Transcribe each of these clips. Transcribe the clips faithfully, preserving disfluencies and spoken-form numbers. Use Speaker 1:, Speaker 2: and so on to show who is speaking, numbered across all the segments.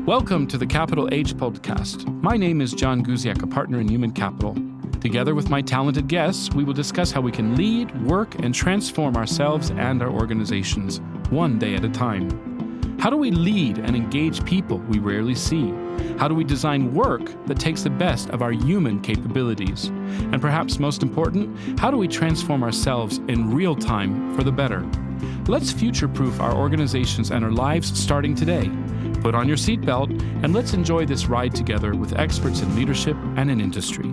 Speaker 1: Welcome to the Capital H podcast. My name is John Guziak, a partner in Human Capital. Together with my talented guests, we will discuss how we can lead, work, and transform ourselves and our organizations, one day at a time. How do we lead and engage people we rarely see? How do we design work that takes the best of our human capabilities? And perhaps most important, how do we transform ourselves in real time for the better? Let's future-proof our organizations and our lives starting today. Put on your seatbelt and let's enjoy this ride together with experts in leadership and in industry.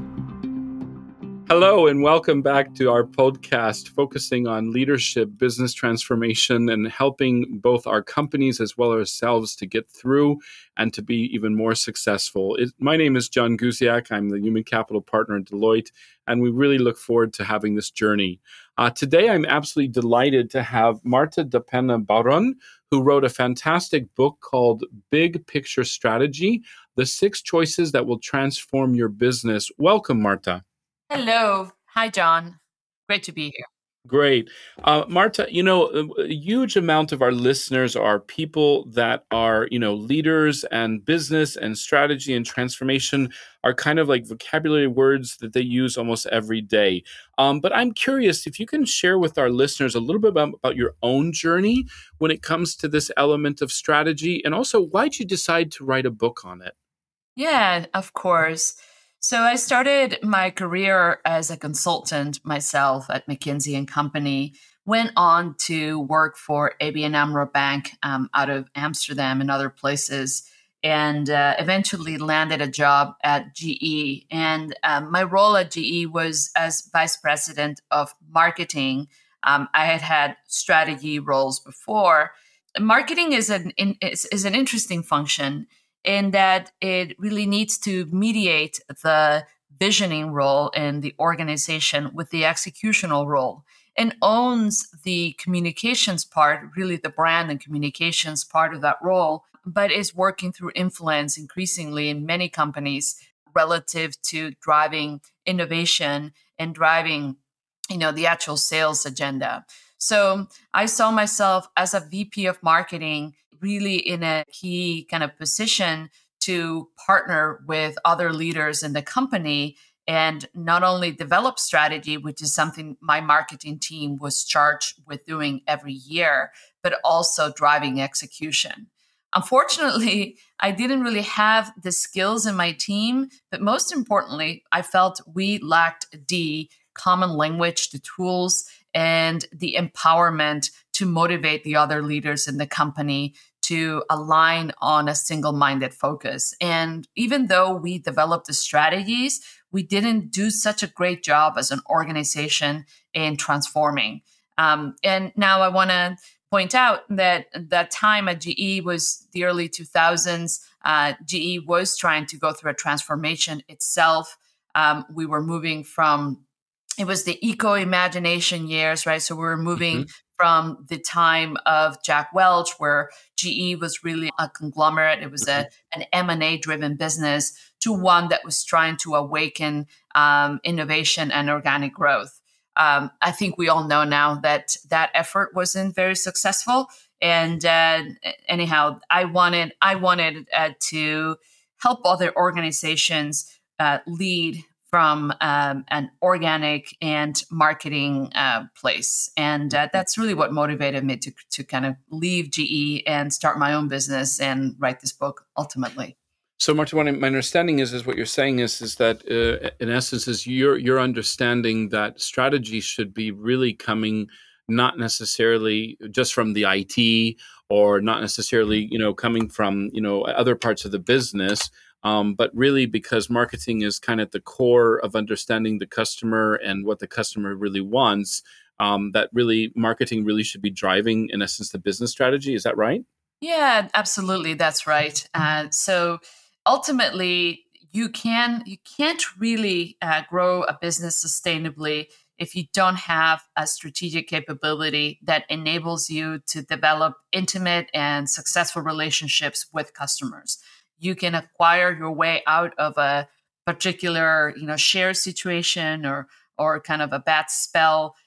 Speaker 1: Hello and welcome back to our podcast focusing on leadership, business transformation, and helping both our companies as well as ourselves to get through and to be even more successful. It, my name is John Guziak. I'm the Human Capital Partner at Deloitte, and we really look forward to having this journey. Uh, today, I'm absolutely delighted to have Marta da Pena Barón, who wrote a fantastic book called Big Picture Strategy, The Six Choices That Will Transform Your Business. Welcome, Marta.
Speaker 2: Hello. Hi, John. Great to be here.
Speaker 1: Great. Uh, Marta, you know, a huge amount of our listeners are people that are, you know, leaders, and business and strategy and transformation are kind of like vocabulary words that they use almost every day. Um, but I'm curious if you can share with our listeners a little bit about, about your own journey when it comes to this element of strategy, and also why'd you decide to write a book on it?
Speaker 2: Yeah, of course. So I started my career as a consultant myself at McKinsey and Company, went on to work for A B N AMRO Bank um, out of Amsterdam and other places, and uh, eventually landed a job at G E. And um, my role at G E was as vice president of marketing. Um, I had had strategy roles before. Marketing is an in, is, is an interesting function in that it really needs to mediate the visioning role in the organization with the executional role, and owns the communications part, really the brand and communications part of that role, but is working through influence increasingly in many companies relative to driving innovation and driving, you know, the actual sales agenda. So I saw myself as a V P of marketing really in a key kind of position to partner with other leaders in the company and not only develop strategy, which is something my marketing team was charged with doing every year, but also driving execution. Unfortunately, I didn't really have the skills in my team, but most importantly, I felt we lacked the common language, the tools, and the empowerment to motivate the other leaders in the company to align on a single-minded focus. And even though we developed the strategies, we didn't do such a great job as an organization in transforming. Um, and now I want to point out that that time at G E was the early two thousands. Uh, G E was trying to go through a transformation itself. Um, we were moving from It was the eco-imagination years, right? So we were moving mm-hmm. from the time of Jack Welch, where G E was really a conglomerate. It was mm-hmm. a, an M and A-driven business, to one that was trying to awaken um, innovation and organic growth. Um, I think we all know now that that effort wasn't very successful. And uh, anyhow, I wanted I wanted uh, to help other organizations uh, lead from um, an organic and marketing uh, place. And uh, that's really what motivated me to, to kind of leave G E and start my own business and write this book ultimately.
Speaker 1: So, Marta, what my understanding is, is what you're saying is, is that uh, in essence, is your your understanding that strategy should be really coming not necessarily just from the I T, or not necessarily, you know, coming from, you know, other parts of the business, um, but really because marketing is kind of at the core of understanding the customer and what the customer really wants, um, that really marketing really should be driving, in essence, the business strategy. Is that right?
Speaker 2: Yeah, absolutely. That's right. Uh, so ultimately, you can you can't really uh, grow a business sustainably if you don't have a strategic capability that enables you to develop intimate and successful relationships with customers. You can acquire your way out of a particular, you know, share situation or or kind of a bad spell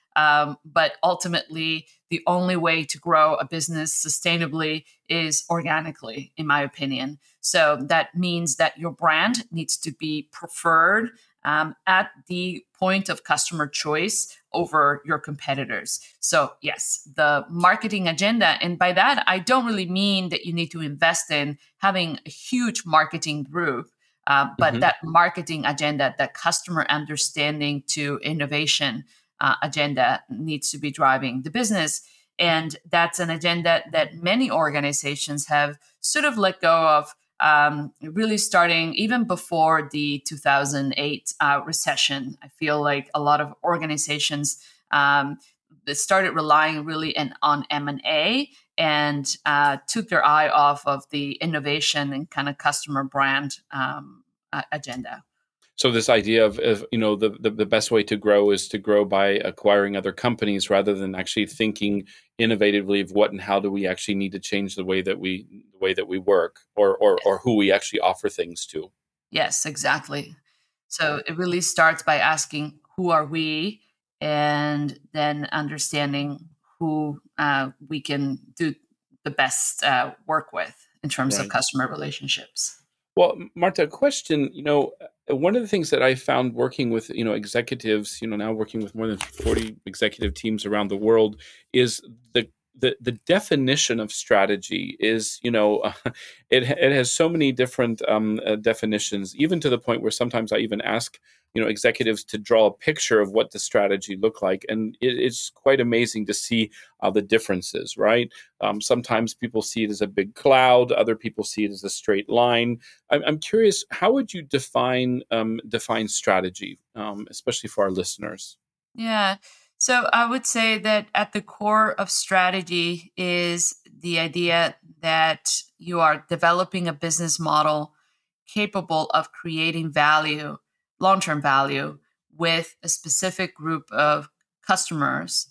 Speaker 2: Um, but ultimately, the only way to grow a business sustainably is organically, in my opinion. So that means that your brand needs to be preferred um, at the point of customer choice over your competitors. So, yes, the marketing agenda. And by that, I don't really mean that you need to invest in having a huge marketing group, uh, but
Speaker 1: Mm-hmm.
Speaker 2: that marketing agenda, that customer understanding to innovation uh, agenda needs to be driving the business. And that's an agenda that many organizations have sort of let go of, um, really starting even before the two thousand eight uh, recession. I feel like a lot of organizations um, started relying really in, on M and A and uh, took their eye off of the innovation and kind of customer brand um, uh, agenda.
Speaker 1: So this idea of, of you know the, the the best way to grow is to grow by acquiring other companies rather than actually thinking innovatively of what and how do we actually need to change the way that we the way that we work or or or who we actually offer things to.
Speaker 2: Yes, exactly. So it really starts by asking, who are we? And then understanding who uh, we can do the best uh, work with in terms of
Speaker 1: Right.
Speaker 2: customer relationships.
Speaker 1: Well, M- Marta, a question, you know, uh, one of the things that I found working with, you know, executives, you know, now working with more than forty executive teams around the world is the the, the definition of strategy is, you know, it it has so many different um, uh, definitions, even to the point where sometimes I even ask, you know, executives to draw a picture of what the strategy look like, and it, it's quite amazing to see uh, the differences, right? Um, sometimes people see it as a big cloud, other people see it as a straight line. I'm, I'm curious, how would you define um, define strategy, um, especially for our listeners?
Speaker 2: Yeah. So I would say that at the core of strategy is the idea that you are developing a business model capable of creating value, long term value, with a specific group of customers,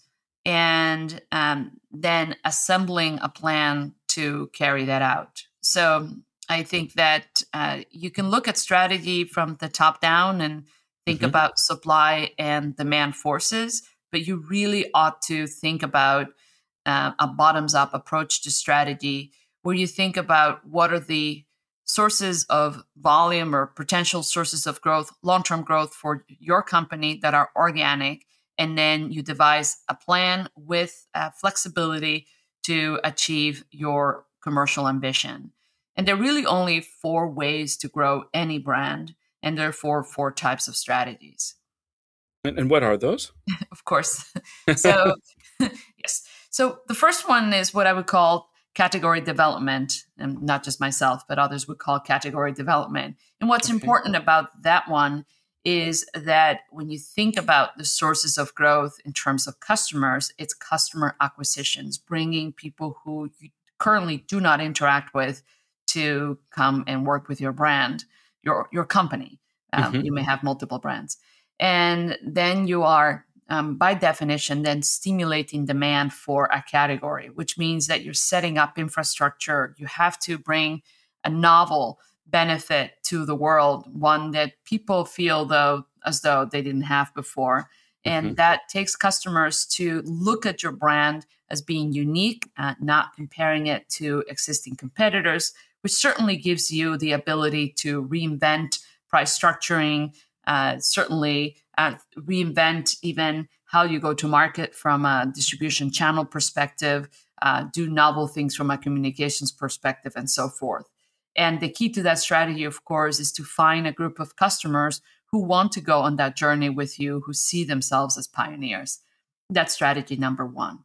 Speaker 2: and um, then assembling a plan to carry that out. So I think that uh, you can look at strategy from the top down and think
Speaker 1: Hmm.
Speaker 2: about supply and demand forces, but you really ought to think about uh, a bottoms up approach to strategy where you think about what are the sources of volume or potential sources of growth, long term growth for your company that are organic. And then you devise a plan with uh, flexibility to achieve your commercial ambition. And there are really only four ways to grow any brand, and therefore four types of strategies.
Speaker 1: And, and what are those?
Speaker 2: Of course. So, yes. So the first one is what I would call category development, and not just myself, but others would call category development. And what's
Speaker 1: Okay.
Speaker 2: important about that one is that when you think about the sources of growth in terms of customers, it's customer acquisitions, bringing people who you currently do not interact with to come and work with your brand, your your company. Um,
Speaker 1: Hmm.
Speaker 2: you may have multiple brands, and then you are um, by definition, then stimulating demand for a category, which means that you're setting up infrastructure. You have to bring a novel benefit to the world, one that people feel though as though they didn't have before.
Speaker 1: Hmm.
Speaker 2: And that takes customers to look at your brand as being unique, uh, not comparing it to existing competitors, which certainly gives you the ability to reinvent price structuring, uh, certainly uh, reinvent even how you go to market from a distribution channel perspective, uh, do novel things from a communications perspective, and so forth. And the key to that strategy, of course, is to find a group of customers who want to go on that journey with you, who see themselves as pioneers. That's strategy number one.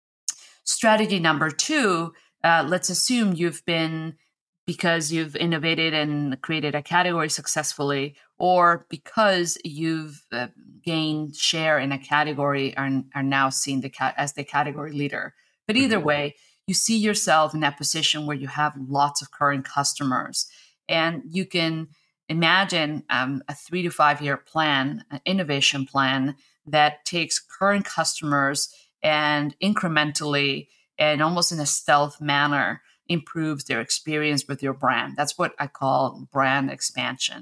Speaker 2: Strategy number two, uh, let's assume you've been, because you've innovated and created a category successfully, or because you've uh, gained share in a category and are now seen the ca- as the category leader. But either
Speaker 1: Hmm.
Speaker 2: way, you see yourself in that position where you have lots of current customers, and you can imagine um, a three to five year plan, an innovation plan that takes current customers and incrementally and almost in a stealth manner improves their experience with your brand. That's what I call brand expansion.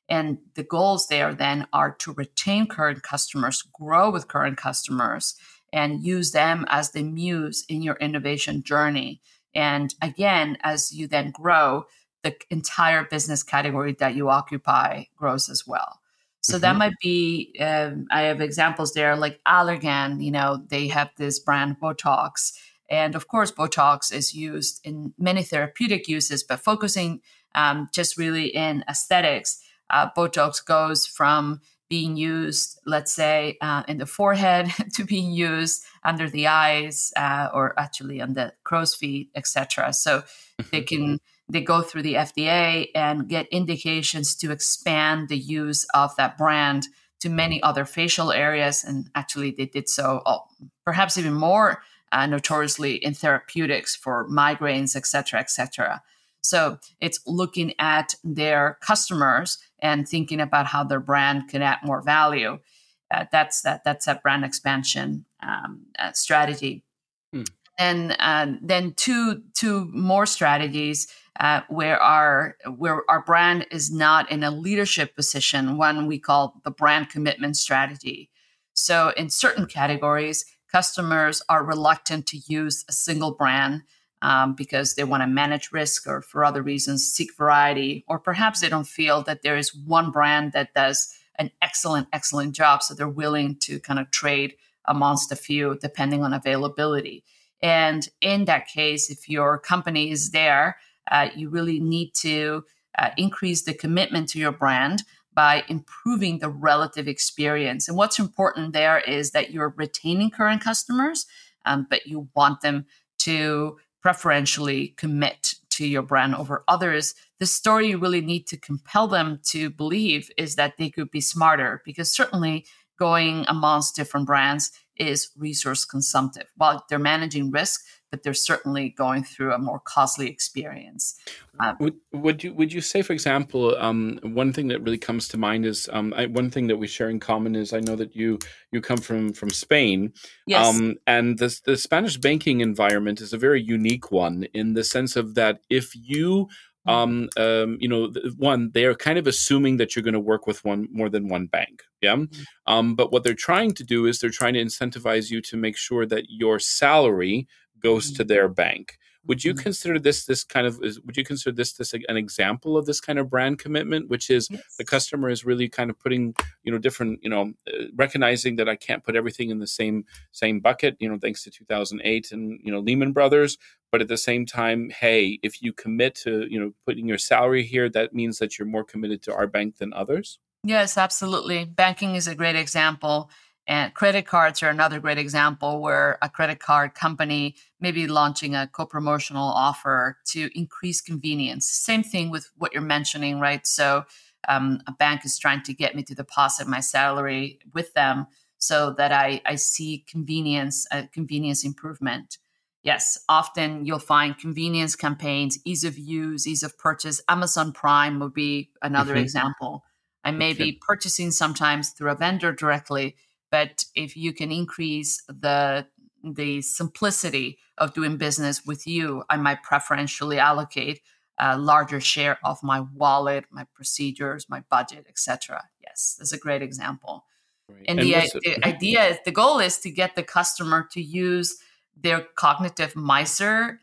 Speaker 2: And the goals there then are to retain current customers, grow with current customers, and use them as the muse in your innovation journey. And again, as you then grow, the entire business category that you occupy grows as well. So that
Speaker 1: Mm-hmm.
Speaker 2: might be, um, I have examples there like Allergan, you know, they have this brand Botox. And of course, Botox is used in many therapeutic uses, but focusing um, just really in aesthetics, uh, Botox goes from being used, let's say, uh, in the forehead to being used under the eyes uh, or actually on the crow's feet, et cetera. So they
Speaker 1: Mm-hmm.
Speaker 2: can they go through the F D A and get indications to expand the use of that brand to many other facial areas. And actually, they did so oh, perhaps even more uh, notoriously in therapeutics for migraines, et cetera, et cetera. So it's looking at their customers and thinking about how their brand can add more value. Uh, that's that. That's a brand expansion um, uh, strategy.
Speaker 1: Mm.
Speaker 2: And uh, then two two more strategies uh, where our where our brand is not in a leadership position. One we call the brand commitment strategy. So in certain categories, customers are reluctant to use a single brand um, because they want to manage risk or for other reasons seek variety, or perhaps they don't feel that there is one brand that does an excellent excellent job, so they're willing to kind of trade amongst a few depending on availability. And in that case, if your company is there, uh, you really need to uh, increase the commitment to your brand by improving the relative experience. And what's important there is that you're retaining current customers, um, but you want them to preferentially commit to your brand over others. The story you really need to compel them to believe is that they could be smarter, because certainly going amongst different brands is resource consumptive. While they're managing risk, but they're certainly going through a more costly experience. Uh,
Speaker 1: Would would you would you say, for example, um, one thing that really comes to mind is um, I, one thing that we share in common is I know that you you come from from Spain,
Speaker 2: yes.
Speaker 1: um, and the the Spanish banking environment is a very unique one in the sense of that if you
Speaker 2: Mm,
Speaker 1: um, um, you know, th- one, they are kind of assuming that you're going to work with one more than one bank, yeah.
Speaker 2: mm,
Speaker 1: Um, but what they're trying to do is they're trying to incentivize you to make sure that your salary goes to
Speaker 2: mm,
Speaker 1: their bank. Would you
Speaker 2: mm.
Speaker 1: consider this this kind of is, would you consider this this an example of this kind of brand commitment, which is the
Speaker 2: Yes.
Speaker 1: customer is really kind of putting, you know, different, you know, uh, recognizing that I can't put everything in the same same bucket, you know, thanks to two thousand eight and, you know, Lehman Brothers, but at the same time, hey, if you commit to, you know, putting your salary here, that means that you're more committed to our bank than others.
Speaker 2: Yes, absolutely. Banking is a great example. And credit cards are another great example where a credit card company may be launching a co promotional offer to increase convenience. Same thing with what you're mentioning, right? So, um, a bank is trying to get me to deposit my salary with them so that I, I see convenience, a convenience improvement. Yes, often you'll find convenience campaigns, ease of use, ease of purchase. Amazon Prime would be another
Speaker 1: Hmm.
Speaker 2: example. I may
Speaker 1: Okay.
Speaker 2: be purchasing sometimes through a vendor directly, but if you can increase the the simplicity of doing business with you, I might preferentially allocate a larger share of my wallet, my procedures, my budget, et cetera. Yes, that's a great example.
Speaker 1: Right.
Speaker 2: And
Speaker 1: And
Speaker 2: the, i-
Speaker 1: what's it?
Speaker 2: the
Speaker 1: Mhm.
Speaker 2: idea is the goal is to get the customer to use their cognitive miser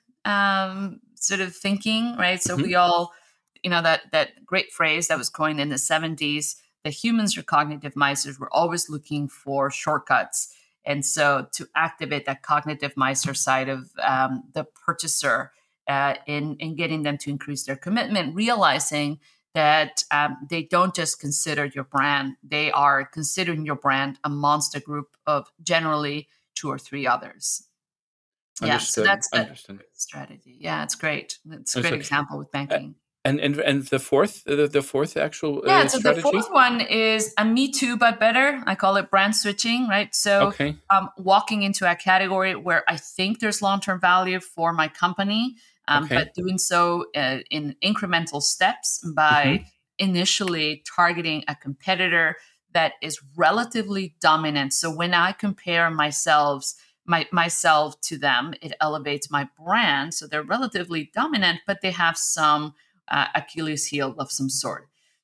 Speaker 2: um, sort of thinking, right? So
Speaker 1: Mhm.
Speaker 2: we all, you know, that that great phrase that was coined in the seventies. The humans are cognitive misers. We're always looking for shortcuts, and so to activate that cognitive miser side of um, the purchaser uh, in in getting them to increase their commitment, realizing that um, they don't just consider your brand, they are considering your brand amongst a group of generally two or three others. Yeah, so
Speaker 1: Understood.
Speaker 2: that's a
Speaker 1: Understood.
Speaker 2: great strategy. Yeah, it's great. It's a great
Speaker 1: Understood.
Speaker 2: example with
Speaker 1: Uh,
Speaker 2: banking.
Speaker 1: and and and the fourth the, the fourth actual
Speaker 2: Yeah,
Speaker 1: uh,
Speaker 2: so the
Speaker 1: strategy.
Speaker 2: fourth one is a me too, but better. I call it brand switching, right? So
Speaker 1: Okay.
Speaker 2: um, walking into a category where I think there's long term value for my company, um,
Speaker 1: Okay.
Speaker 2: but doing so uh, in incremental steps by
Speaker 1: Hmm.
Speaker 2: initially targeting a competitor that is relatively dominant. So when I compare myself, my, myself to them, it elevates my brand. So they're relatively dominant, but they have some uh, Achilles heel of some sort.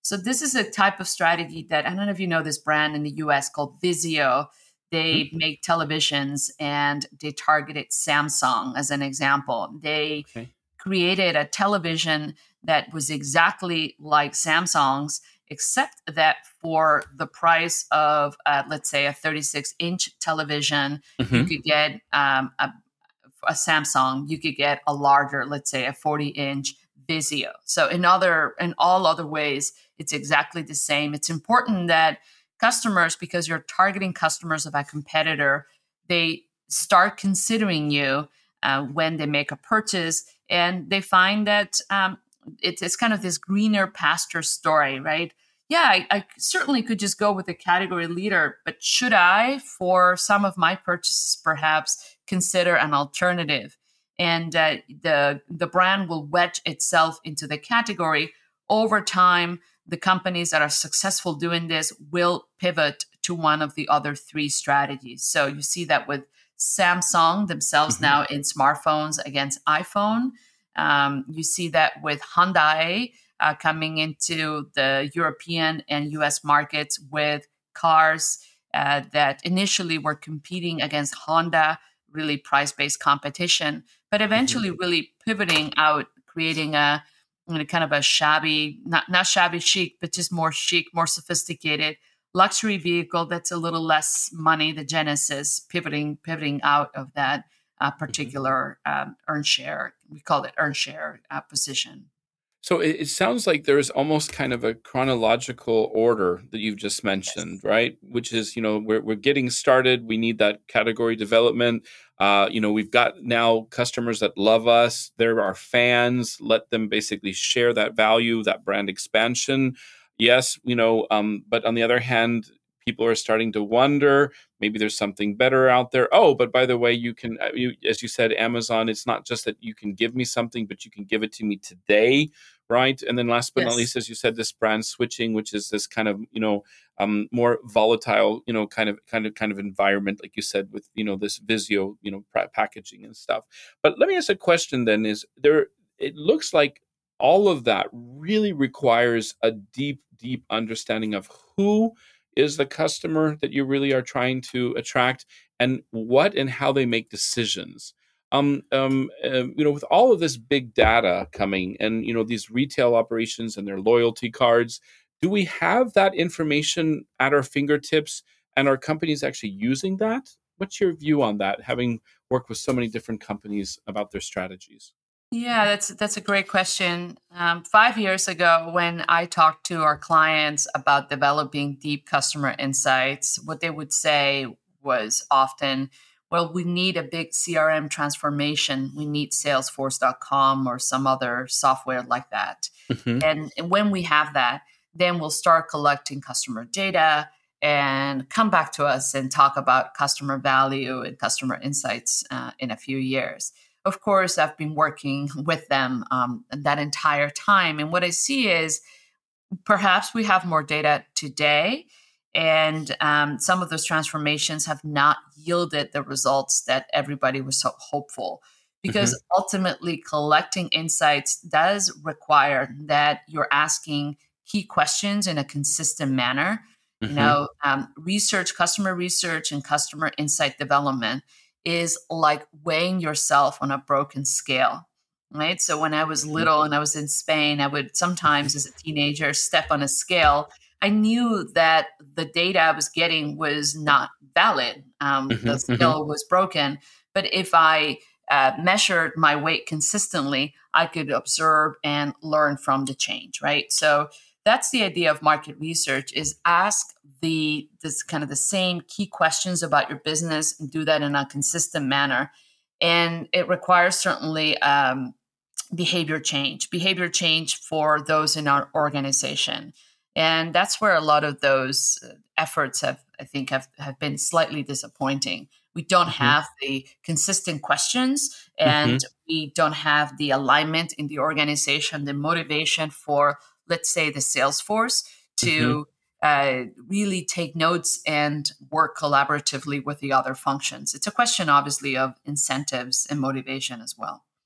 Speaker 2: So this is a type of strategy that, I don't know if you know this brand in the U S called Vizio. They
Speaker 1: Hmm?
Speaker 2: make televisions and they targeted Samsung as an example. They
Speaker 1: Okay.
Speaker 2: created a television that was exactly like Samsung's, except that for the price of, uh, let's say, a thirty-six inch television, you
Speaker 1: Hmm.
Speaker 2: could get um, a, a Samsung, you could get a larger, let's say, a forty inch Vizio. So in other, in all other ways, it's exactly the same. It's important that customers, because you're targeting customers of a competitor, they start considering you uh, when they make a purchase, and they find that um, it's, it's kind of this greener pasture story, right? Yeah, I, I certainly could just go with the category leader, but should I, for some of my purchases, perhaps consider an alternative? And uh, the the brand will wedge itself into the category over time. The companies that are successful doing this will pivot to one of the other three strategies. So you see that with Samsung themselves
Speaker 1: Hmm.
Speaker 2: now in smartphones against iPhone. Um, you see that with Hyundai uh, coming into the European and U S markets with cars uh, that initially were competing against Honda, really price based competition, but
Speaker 1: Hmm.
Speaker 2: eventually really pivoting out, creating a you know, kind of a shabby, not, not shabby chic, but just more chic, more sophisticated luxury vehicle that's a little less money, the Genesis, pivoting pivoting out of that uh,
Speaker 1: Hmm.
Speaker 2: particular um, earn share. We call it earn share uh, position.
Speaker 1: So it, it sounds like there's almost kind of a chronological order that you've just mentioned,
Speaker 2: Yes.
Speaker 1: right? Which is, you know, we're we're getting started. We need that category development. Uh, you know, we've got now customers that love us. They're our fans. Let them basically share that value, that brand expansion. Yes, you know, um, but on the other hand, people are starting to wonder. Maybe there's something better out there. Oh, but by the way, you can, uh, you, as you said, Amazon. It's not just that you can give me something, but you can give it to me today, right? And then last but not
Speaker 2: Yes.
Speaker 1: least, as you said, this brand switching, which is this kind of, you know, um, more volatile, you know, kind of kind of kind of environment, like you said, with, you know, this Vizio, you know, pra- packaging and stuff. But let me ask a question then: Is there? It looks like all of that really requires a deep, deep understanding of who is the customer that you really are trying to attract, and what and how they make decisions. Um, um, uh, you know, with all of this big data coming, and you know these retail operations and their loyalty cards, do we have that information at our fingertips, and are companies actually using that? What's your view on that, having worked with so many different companies about their strategies?
Speaker 2: Yeah, that's that's a great question. Um, five years ago, when I talked to our clients about developing deep customer insights, what they would say was often, "Well, we need a big C R M transformation. We need Salesforce dot com or some other software like that."
Speaker 1: Hmm.
Speaker 2: And when we have that, then we'll start collecting customer data and come back to us and talk about customer value and customer insights uh, in a few years. Of course, I've been working with them um, that entire time. And what I see is perhaps we have more data today, and um, some of those transformations have not yielded the results that everybody was so hopeful.
Speaker 1: Hmm.
Speaker 2: Because ultimately, collecting insights does require that you're asking key questions in a consistent manner. You
Speaker 1: Hmm.
Speaker 2: know, um, research, customer research, and customer insight development is like weighing yourself on a broken scale, right? So when I was
Speaker 1: Hmm.
Speaker 2: little and I was in Spain, I would sometimes, as a teenager, step on a scale. I knew that the data I was getting was not valid. Um,
Speaker 1: Hmm.
Speaker 2: the
Speaker 1: Hmm.
Speaker 2: scale was broken. But if I uh, measured my weight consistently, I could observe and learn from the change, right? So that's the idea of market research: is ask the this kind of the same key questions about your business and do that in a consistent manner. And it requires certainly um, behavior change, behavior change for those in our organization. And that's where a lot of those uh, efforts have, I think, have, have been slightly disappointing. We don't
Speaker 1: Hmm.
Speaker 2: have the consistent questions, and
Speaker 1: Hmm.
Speaker 2: we don't have the alignment in the organization, the motivation for, let's say, the sales force
Speaker 1: Hmm.
Speaker 2: to uh, really take notes and work collaboratively with the other functions. It's a question, obviously, of incentives and motivation as well.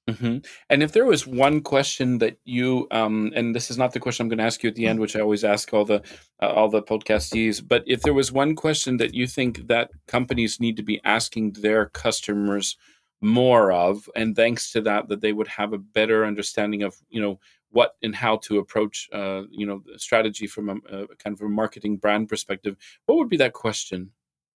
Speaker 1: hmm And if there was one question that you, um, and this is not the question I'm going to ask you at the end, which I always ask all the uh, all the podcastees, but if there was one question that you think that companies need to be asking their customers more of, and thanks to that, that they would have a better understanding of, you know, what and how to approach, uh, you know, the strategy from a, a kind of a marketing brand perspective, what would be that question?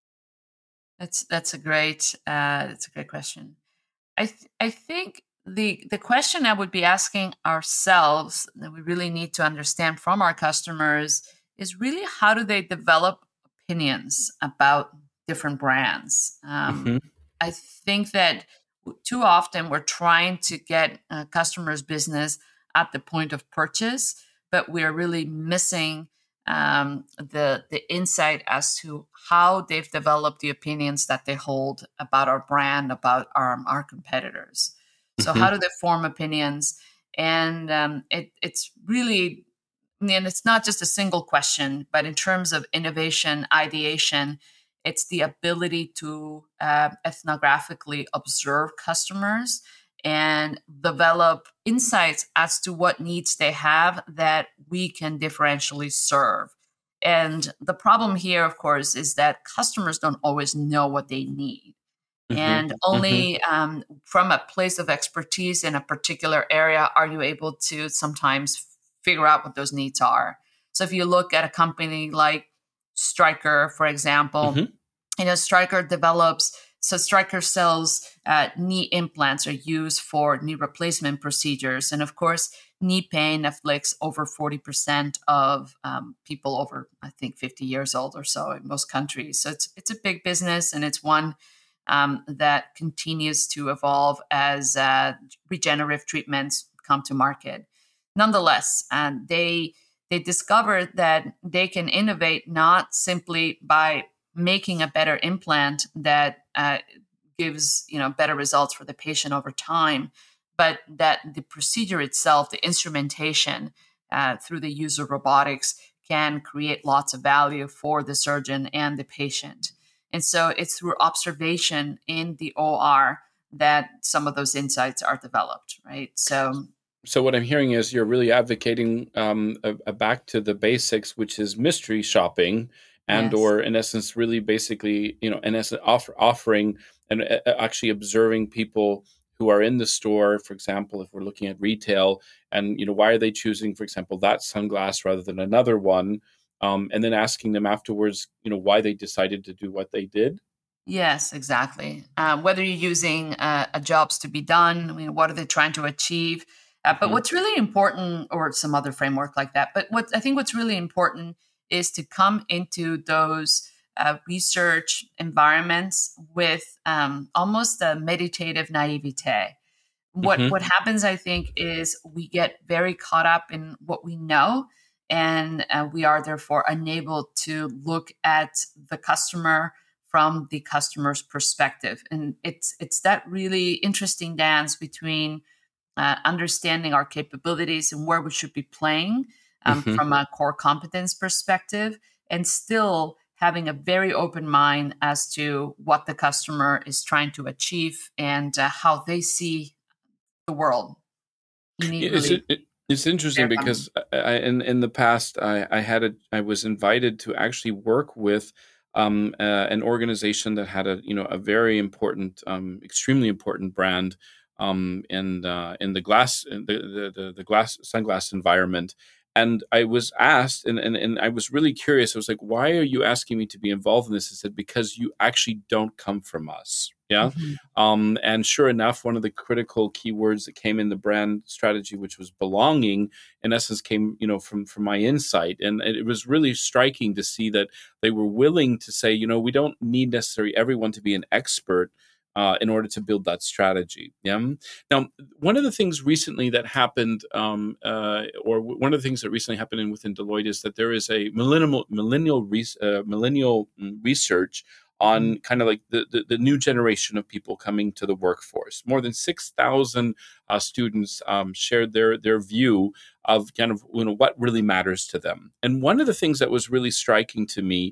Speaker 2: That's that's a great uh, that's a great question. I th- I think the the question I would be asking ourselves that we really need to understand from our customers is really how do they develop opinions about different brands. Um,
Speaker 1: hmm
Speaker 2: I think that w- too often we're trying to get uh, customers' business at the point of purchase, but we're really missing um, the the insight as to how they've developed the opinions that they hold about our brand, about our our competitors. So how
Speaker 1: hmm
Speaker 2: do they form opinions? And um, it, it's really, and it's not just a single question, but in terms of innovation, ideation, it's the ability to uh, ethnographically observe customers and develop insights as to what needs they have that we can differentially serve. And the problem here, of course, is that customers don't always know what they need.
Speaker 1: hmm
Speaker 2: And
Speaker 1: hmm
Speaker 2: only um, from a place of expertise in a particular area are you able to sometimes figure out what those needs are. So if you look at a company like Stryker, for example,
Speaker 1: hmm
Speaker 2: you know, Stryker develops, so Stryker sells uh, knee implants are used for knee replacement procedures. And of course, knee pain afflicts over forty percent of um, people over, I think, fifty years old or so in most countries. So it's, it's a big business, and it's one um, that continues to evolve as uh, regenerative treatments come to market. Nonetheless, um, they they discovered that they can innovate not simply by making a better implant that uh, gives you know better results for the patient over time, but that the procedure itself, the instrumentation uh, through the use of robotics, can create lots of value for the surgeon and the patient. And so it's through observation in the O R that some of those insights are developed, right? So,
Speaker 1: So what I'm hearing is you're really advocating um, a, a back to the basics, which is mystery shopping, and
Speaker 2: yes.
Speaker 1: or in essence, really basically, you know, in essence, offer, offering and uh, uh, actually observing people who are in the store. For example, if we're looking at retail, and you know, why are they choosing, for example, that sunglass rather than another one, um, and then asking them afterwards, you know, why they decided to do what they did.
Speaker 2: Yes, exactly. Uh, whether you're using uh, a jobs to be done, I mean, what are they trying to achieve? Uh, but
Speaker 1: hmm
Speaker 2: what's really important, or some other framework like that. But what I think what's really important is to come into those uh, research environments with um, almost a meditative naivete. What
Speaker 1: hmm
Speaker 2: what happens, I think, is we get very caught up in what we know, and uh, we are therefore unable to look at the customer from the customer's perspective. And it's it's that really interesting dance between uh, understanding our capabilities and where we should be playing um,
Speaker 1: hmm
Speaker 2: from a core competence perspective, and still having a very open mind as to what the customer is trying to achieve and uh, how they see the world. You need
Speaker 1: It's
Speaker 2: really
Speaker 1: it, it's interesting
Speaker 2: fair funding.
Speaker 1: because I, I in in the past I I had a I was invited to actually work with um uh, an organization that had a you know a very important um extremely important brand um in uh, in the glass in the, the the the glass sunglass environment. And I was asked, and, and, and I was really curious. I was like, why are you asking me to be involved in this? I said, because you actually don't come from us. Yeah.
Speaker 2: Mhm.
Speaker 1: Um, and sure enough, one of the critical keywords that came in the brand strategy, which was belonging, in essence, came you know from from my insight, and it was really striking to see that they were willing to say, you know, we don't need necessarily everyone to be an expert. Uh, in order to build that strategy, yeah. Now, one of the things recently that happened, um, uh, or w- one of the things that recently happened in, within Deloitte, is that there is a millennial millennial res- uh, millennial mm, research
Speaker 2: Mhm.
Speaker 1: on kind of like the, the, the new generation of people coming to the workforce. More than six thousand uh, students um, shared their, their view of kind of you know what really matters to them. And one of the things that was really striking to me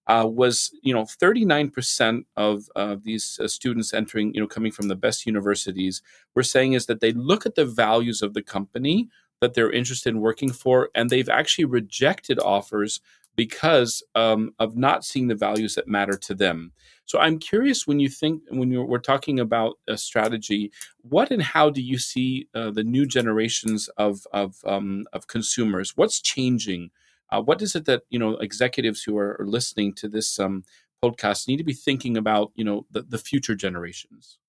Speaker 1: uh, was, you know, thirty-nine percent of uh, these uh, students entering, you know, coming from the best universities were saying is that they look at the values of the company that they're interested in working for, and they've actually rejected offers because um, of not seeing the values that matter to them. So I'm curious, when you think, when you're, we're talking about a strategy, what and how do you see uh, the new generations of of um, of consumers? What's changing? Uh, what is it that, you know, executives who are, are listening to this um, podcast need to be thinking about? You know, the, the future generations.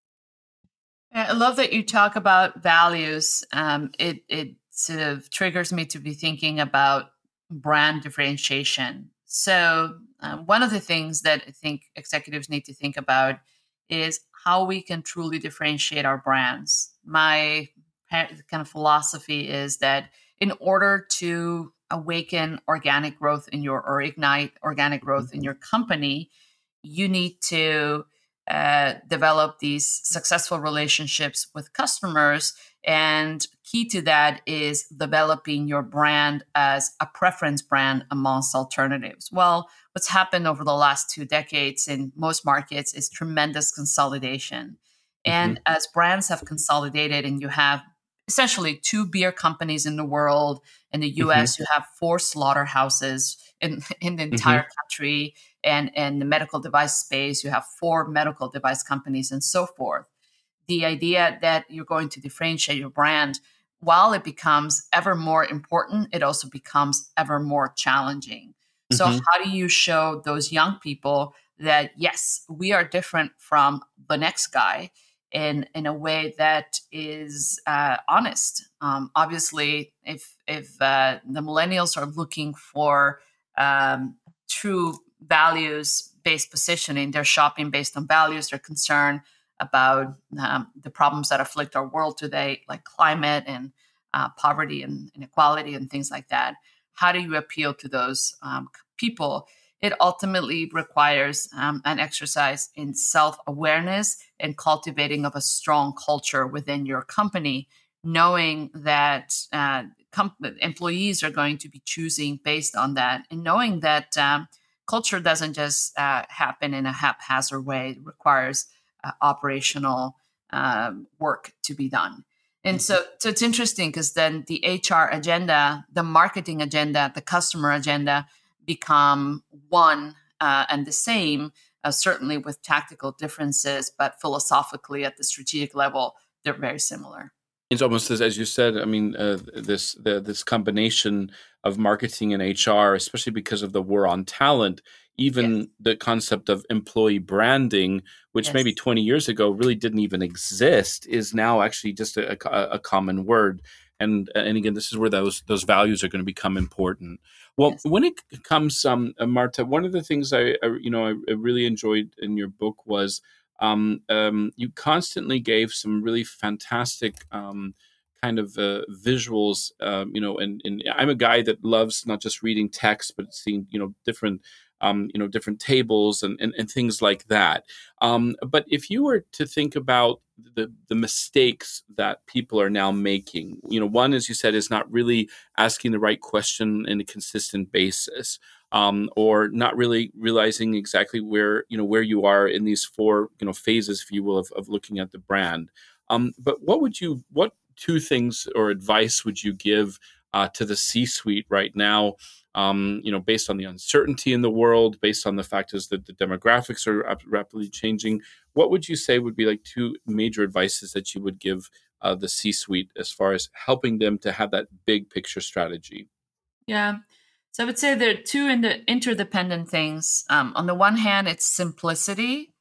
Speaker 2: I love that you talk about values. Um, it it sort of triggers me to be thinking about brand differentiation. So uh, one of the things that I think executives need to think about is how we can truly differentiate our brands. My pa- kind of philosophy is that in order to awaken organic growth in your or ignite organic growth in your company, you need to uh, develop these successful relationships with customers. And key to that is developing your brand as a preference brand amongst alternatives. Well, what's happened over the last two decades in most markets is tremendous consolidation. And
Speaker 1: Hmm.
Speaker 2: as brands have consolidated, and you have essentially two beer companies in the world, in the
Speaker 1: Hmm.
Speaker 2: U S, you have four slaughterhouses in, in the entire
Speaker 1: Hmm.
Speaker 2: country, and in the medical device space, you have four medical device companies and so forth. The idea that you're going to differentiate your brand, while it becomes ever more important, it also becomes ever more challenging. So,
Speaker 1: Hmm.
Speaker 2: how do you show those young people that, yes, we are different from the next guy in, in a way that is uh, honest? Um, obviously, if, if uh, the millennials are looking for um, true values based positioning, they're shopping based on values, they're concerned about um, the problems that afflict our world today, like climate and uh, poverty and inequality and things like that. How do you appeal to those um, people? It ultimately requires um, an exercise in self awareness and cultivating of a strong culture within your company, knowing that uh, com- employees are going to be choosing based on that, and knowing that um, culture doesn't just uh, happen in a haphazard way. It requires uh, operational um, work to be done. And
Speaker 1: Hmm.
Speaker 2: so, so it's interesting because then the H R agenda, the marketing agenda, the customer agenda become one uh, and the same, uh, certainly with tactical differences, but philosophically at the strategic level, they're very similar.
Speaker 1: It's almost as, as you said. I mean, uh, this the, this combination of marketing and H R, especially because of the war on talent.
Speaker 2: Yes,
Speaker 1: Even the concept of employee branding, which maybe
Speaker 2: yes,
Speaker 1: twenty years ago really didn't even exist, is now actually just a, a, a common word. And and again, this is where those those values are going to become important. Well,
Speaker 2: yes.
Speaker 1: when it comes, um, uh, Marta, one of the things I, I you know I, I really enjoyed in your book was um, um, you constantly gave some really fantastic um, kind of uh, visuals. Um, you know, and, and I'm a guy that loves not just reading text, but seeing, you know, different um, you know, different tables and, and, and things like that. Um, but if you were to think about the the mistakes that people are now making, you know, one, as you said, is not really asking the right question in a consistent basis, um, or not really realizing exactly where, you know, where you are in these four, you know, phases, if you will, of, of looking at the brand. Um, but what would you what two things or advice would you give uh, to the C-suite right now? Um, you know, based on the uncertainty in the world, based on the fact is that the demographics are rap- rapidly changing. What would you say would be like two major advices that you would give uh, the C-suite as far as helping them to have that big picture strategy?
Speaker 2: Yeah. So I would say there are two in the interdependent things. Um, on the one hand, it's simplicity.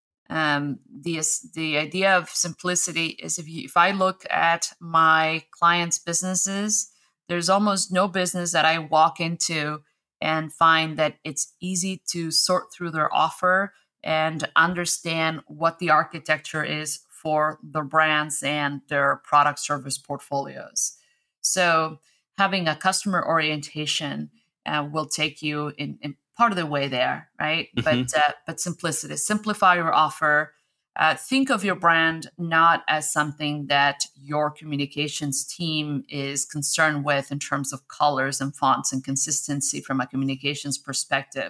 Speaker 2: Um, the the idea of simplicity is if you, if I look at my clients' businesses, there's almost no business that I walk into and find that it's easy to sort through their offer and understand what the architecture is for their brands and their product service portfolios. So having a customer orientation uh, will take you in, in part of the way there, right? But
Speaker 1: Hmm.
Speaker 2: uh, but simplicity, simplify your offer. Uh, think of your brand not as something that your communications team is concerned with in terms of colors and fonts and consistency from a communications perspective.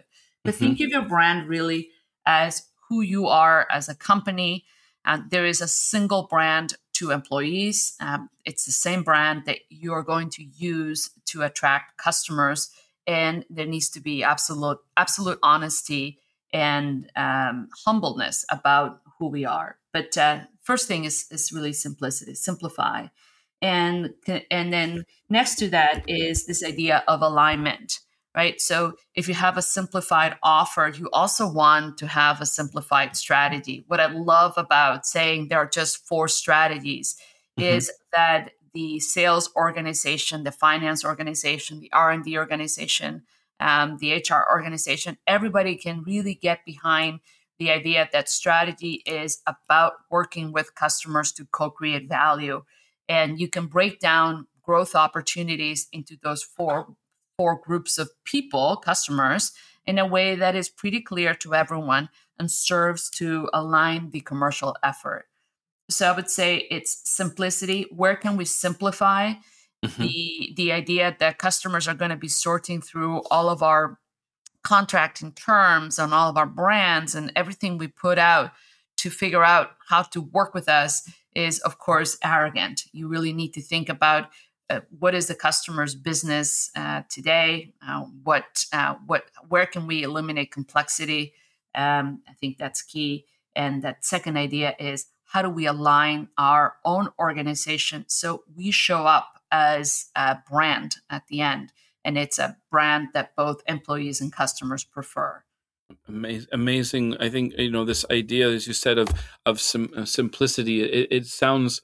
Speaker 2: But
Speaker 1: Mm-hmm.
Speaker 2: think of your brand really as who you are as a company. And there is a single brand to employees. Um, it's the same brand that you're going to use to attract customers. And there needs to be absolute, absolute honesty and um, humbleness about who we are. But uh, first thing is, is really simplicity, simplify. And, and then next to that is this idea of alignment, right? So if you have a simplified offer, you also want to have a simplified strategy. What I love about saying there are just four strategies
Speaker 1: Mm-hmm.
Speaker 2: is that the sales organization, the finance organization, the R and D organization, um, the H R organization, everybody can really get behind the idea that strategy is about working with customers to co-create value. And you can break down growth opportunities into those four four groups of people, customers, in a way that is pretty clear to everyone and serves to align the commercial effort. So I would say it's simplicity. Where can we simplify
Speaker 1: Mm-hmm.
Speaker 2: the the idea that customers are going to be sorting through all of our contracting terms on all of our brands and everything we put out to figure out how to work with us is, of course, arrogant. You really need to think about uh, what is the customer's business uh, today. Uh, what, uh, what, where can we eliminate complexity? Um, I think that's key. And that second idea is how do we align our own organization so we show up as a brand at the end, and it's a brand that both employees and customers prefer.
Speaker 1: Amazing, amazing. I think you know this idea, as you said, of of sim- uh, simplicity. It, it sounds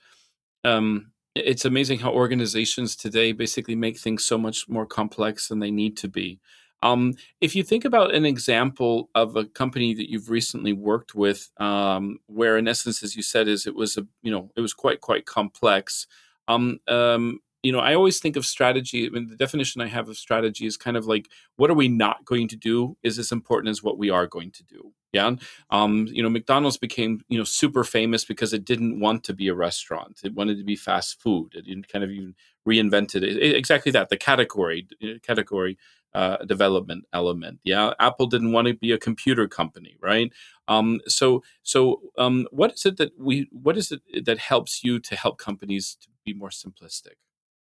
Speaker 1: um, it's amazing how organizations today basically make things so much more complex than they need to be. Um, if you think about an example of a company that you've recently worked with, um, where in essence, as you said, is it was a you know it was quite quite complex. Um, um, you know, I always think of strategy. I mean, the definition I have of strategy is kind of like what are we not going to do is as important as what we are going to do. Yeah. Um, you know, McDonald's became, you know, super famous because it didn't want to be a restaurant. It wanted to be fast food. It didn't kind of even reinvented it. It- exactly that, the category, uh, category uh, development element. Yeah. Apple didn't want to be a computer company, right? Um, so, so um, what is it that we, what is it that helps you to help companies to be more simplistic?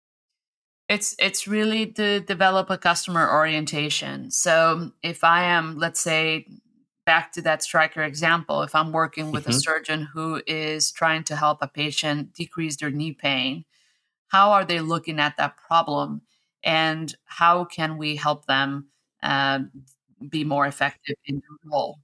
Speaker 2: It's it's really to develop a customer orientation. So if I am, let's say, back to that striker example, if I'm working with a
Speaker 1: Hmm.
Speaker 2: surgeon who is trying to help a patient decrease their knee pain, how are they looking at that problem, and how can we help them uh, be more effective in their role?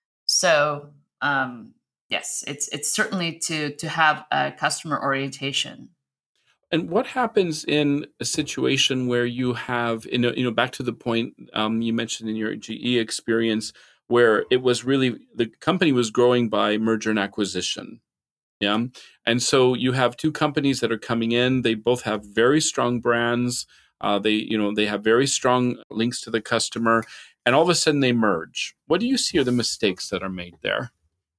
Speaker 2: So um, yes, it's it's certainly to to have a customer orientation.
Speaker 1: And what happens in a situation where you have, you know, you know, back to the point um, you mentioned in your G E experience, where it was really the company was growing by merger and acquisition, yeah, and so you have two companies that are coming in. They both have very strong brands. Uh, they, you know, they have very strong links to the customer, and all of a sudden they merge. What do you see are the mistakes that are made there?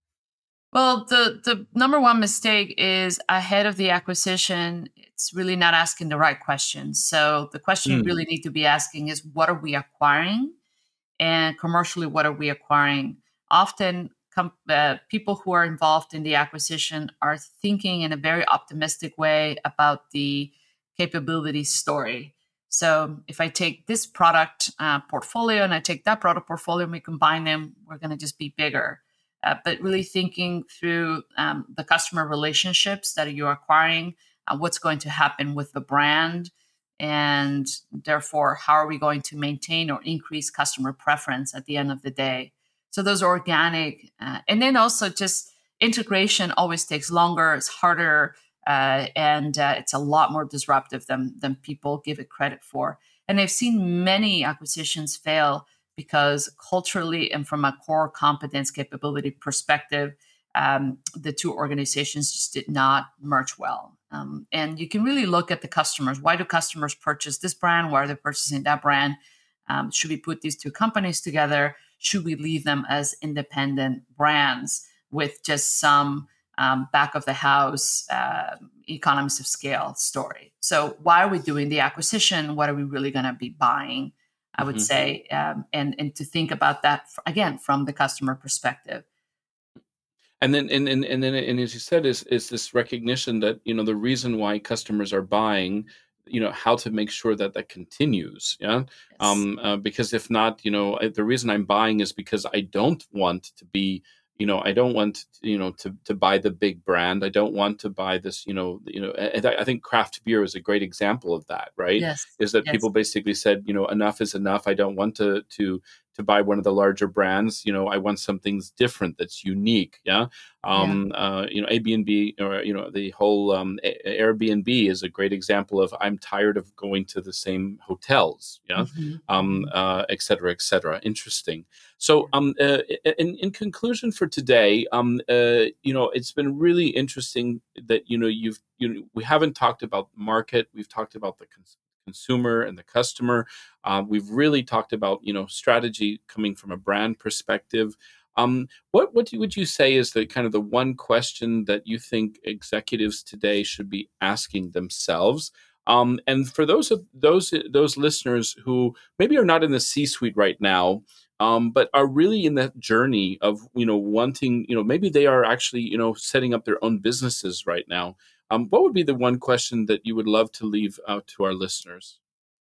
Speaker 2: Well, the the number one mistake is ahead of the acquisition, it's really not asking the right questions. So the question you
Speaker 1: Hmm.
Speaker 2: really need to be asking is what are we acquiring? And commercially, what are we acquiring? Often, com- uh, people who are involved in the acquisition are thinking in a very optimistic way about the capability story. So, if I take this product uh, portfolio and I take that product portfolio and we combine them, we're going to just be bigger. Uh, but really thinking through um, the customer relationships that you're acquiring, uh, what's going to happen with the brand, and therefore how are we going to maintain or increase customer preference at the end of the day. So those organic uh, and then also just integration always takes longer, it's harder, uh, and uh, it's a lot more disruptive than than people give it credit for. And I've seen many acquisitions fail because culturally and from a core competence capability perspective, um, the two organizations just did not merge well. Um, and you can really look at the customers. Why do customers purchase this brand? Why are they purchasing that brand? Um, should we put these two companies together? Should we leave them as independent brands with just some um, back of the house uh, economies of scale story? So, why are we doing the acquisition? What are we really going to be buying? I would
Speaker 1: Hmm.
Speaker 2: say, um, and and to think about that again from the customer perspective.
Speaker 1: And then, and, and, and then, and as you said, is is this recognition that, you know, the reason why customers are buying, you know, how to make sure that that continues, yeah.
Speaker 2: Yes.
Speaker 1: Um, uh, because if not, you know, I- the reason I'm buying is because I don't want to be, you know, I don't want, you know, to to buy the big brand. I don't want to buy this, you know, you know. And I I think craft beer is a great example of that, right?
Speaker 2: Yes.
Speaker 1: Is that
Speaker 2: Yes.
Speaker 1: people basically said, you know, enough is enough. I don't want to to to buy one of the larger brands. You know, I want something different that's unique, yeah.
Speaker 2: Yeah.
Speaker 1: Um, uh, you know, Airbnb, or you know, the whole um, A- Airbnb is a great example of I'm tired of going to the same hotels, yeah,
Speaker 2: Hmm.
Speaker 1: um,
Speaker 2: Hmm.
Speaker 1: uh, et cetera, et cetera. Interesting. So, um, uh, in, in conclusion for today, um, uh, you know, it's been really interesting that you know you've you know, we haven't talked about market, we've talked about the cons- consumer and the customer. Uh, we've really talked about you know strategy coming from a brand perspective. Um, what what do- would you say is the kind of the one question that you think executives today should be asking themselves? Um, and for those of those those listeners who maybe are not in the C-suite right now, um, but are really in that journey of you know wanting, you know, maybe they are actually you know setting up their own businesses right now. Um, what would be the one question that you would love to leave out to our listeners?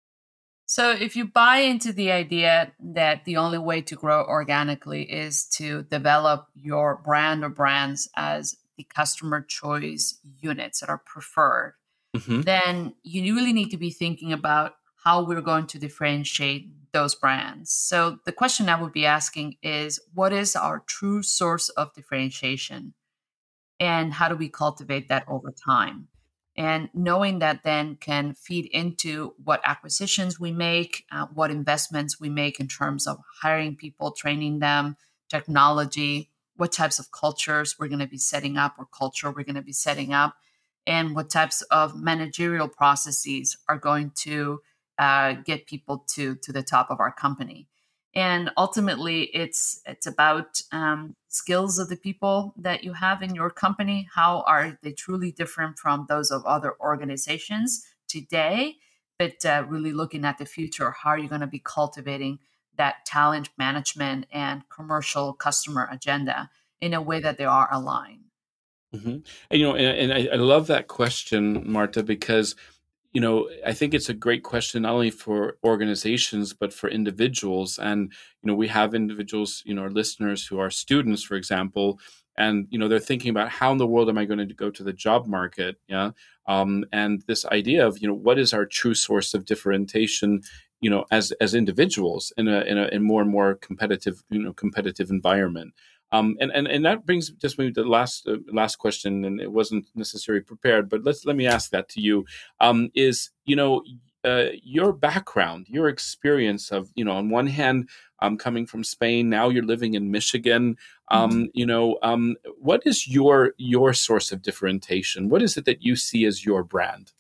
Speaker 2: So, if you buy into the idea that the only way to grow organically is to develop your brand or brands as the customer choice units that are preferred,
Speaker 1: Hmm.
Speaker 2: then you really need to be thinking about how we're going to differentiate those brands. So, the question I would be asking is, what is our true source of differentiation? And how do we cultivate that over time? And knowing that then can feed into what acquisitions we make, uh, what investments we make in terms of hiring people, training them, technology, what types of cultures we're going to be setting up or culture we're going to be setting up, and what types of managerial processes are going to uh, get people to to the top of our company. And ultimately it's it's about um, skills of the people that you have in your company. How are they truly different from those of other organizations today, but uh, really looking at the future, how are you going to be cultivating that talent management and commercial customer agenda in a way that they are aligned.
Speaker 1: Hmm. And you know, and, and I, I love that question, Marta, because you know I think it's a great question not only for organizations but for individuals. And you know, we have individuals, you know, our listeners who are students, for example, and you know they're thinking about how in the world am I going to go to the job market, yeah. Um, and this idea of you know what is our true source of differentiation, you know, as as individuals in a in a in more and more competitive you know competitive environment. Um, and, and and that brings just maybe the last uh, last question, and it wasn't necessarily prepared, but let's let me ask that to you. Um, is you know uh, your background, your experience of you know on one hand, um, coming from Spain, now you're living in Michigan.
Speaker 2: Mhm.
Speaker 1: Um, you know, um, what is your your source of differentiation? What is it that you see as your brand?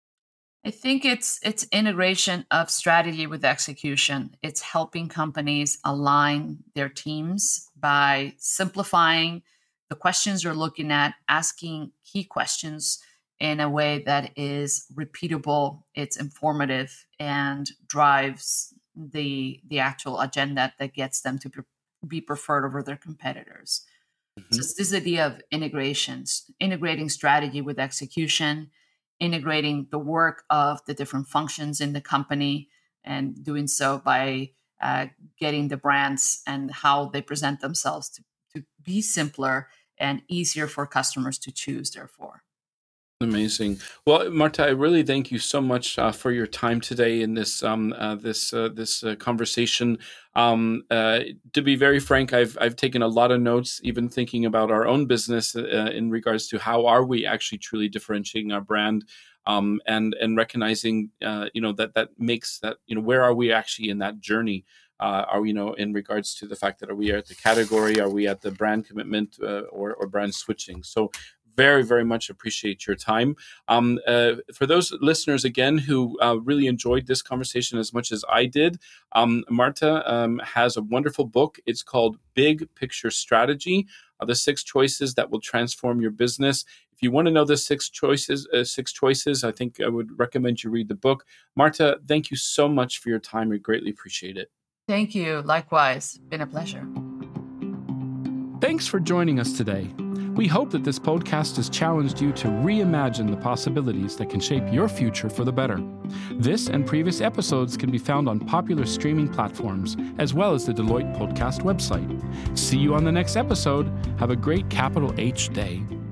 Speaker 2: I think it's it's integration of strategy with execution. It's helping companies align their teams by simplifying the questions you're looking at, asking key questions in a way that is repeatable, it's informative, and drives the the actual agenda that gets them to pre- be preferred over their competitors. So
Speaker 1: Hmm.
Speaker 2: it's this idea of integrations, integrating strategy with execution, integrating the work of the different functions in the company, and doing so by uh, getting the brands and how they present themselves to, to be simpler and easier for customers to choose, therefore.
Speaker 1: Amazing. Well, Marta, I really thank you so much uh, for your time today in this um, uh, this uh, this uh, conversation. Um, uh, to be very frank, I've I've taken a lot of notes, even thinking about our own business uh, in regards to how are we actually truly differentiating our brand, um, and and recognizing uh, you know that that makes that you know where are we actually in that journey. Uh, are we, you know, in regards to the fact that are we at the category, are we at the brand commitment, uh, or, or brand switching? So very, very much appreciate your time. Um, uh, for those listeners, again, who uh, really enjoyed this conversation as much as I did, um, Marta um, has a wonderful book. It's called Big Picture Strategy, uh, The Six Choices That Will Transform Your Business. If you want to know the six choices, uh, six choices, I think I would recommend you read the book. Marta, thank you so much for your time. We greatly appreciate it.
Speaker 2: Thank you. Likewise. Been a pleasure.
Speaker 1: Thanks for joining us today. We hope that this podcast has challenged you to reimagine the possibilities that can shape your future for the better. This and previous episodes can be found on popular streaming platforms, as well as the Deloitte Podcast website. See you on the next episode. Have a great capital H day.